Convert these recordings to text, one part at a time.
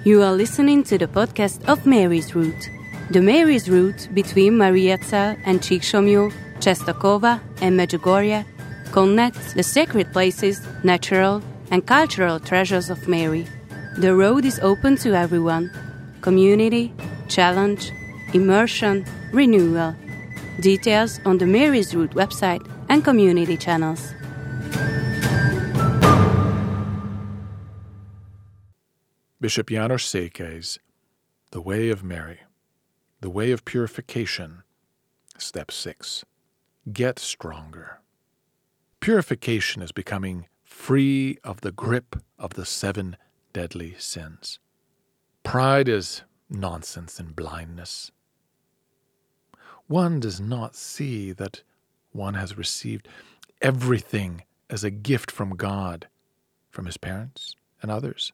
You are listening to the podcast of Mary's Route. The Mary's Route between Mariazell and Csíksomlyó, Czestochowa and Medjugorje connects the sacred places, natural and cultural treasures of Mary. The road is open to everyone. Community, challenge, immersion, renewal. Details on the Mary's Route website and community channels. Bishop János Székely's The Way of Mary, The Way of Purification, Step 6. Get stronger. Purification is becoming free of the grip of the 7 deadly sins. Pride is nonsense and blindness. One does not see that one has received everything as a gift from God, from his parents and others.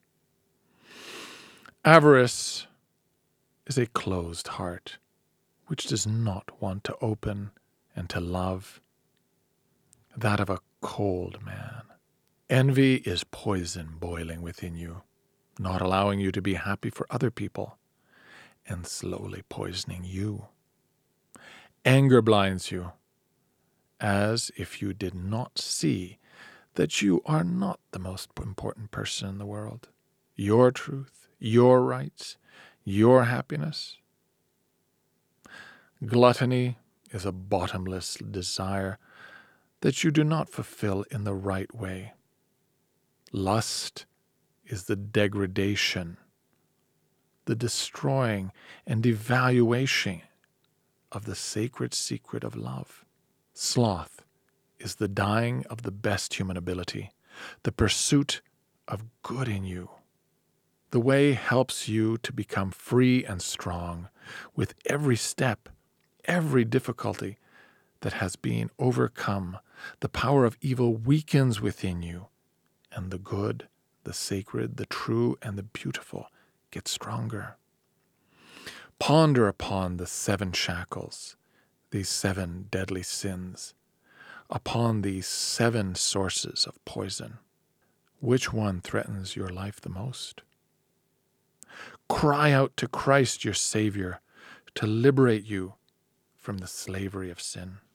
Avarice is a closed heart, which does not want to open and to love. That of a cold man. Envy is poison boiling within you, not allowing you to be happy for other people, and slowly poisoning you. Anger blinds you, as if you did not see that you are not the most important person in the world. Your truth, your rights, your happiness. Gluttony is a bottomless desire that you do not fulfill in the right way. Lust is the degradation, the destroying and devaluation of the sacred secret of love. Sloth is the dying of the best human ability, the pursuit of good in you. The way helps you to become free and strong with every step, every difficulty that has been overcome. The power of evil weakens within you, and the good, the sacred, the true, and the beautiful get stronger. Ponder upon the 7 shackles, these 7 deadly sins, upon these 7 sources of poison. Which one threatens your life the most? Cry out to Christ, your Savior, to liberate you from the slavery of sin.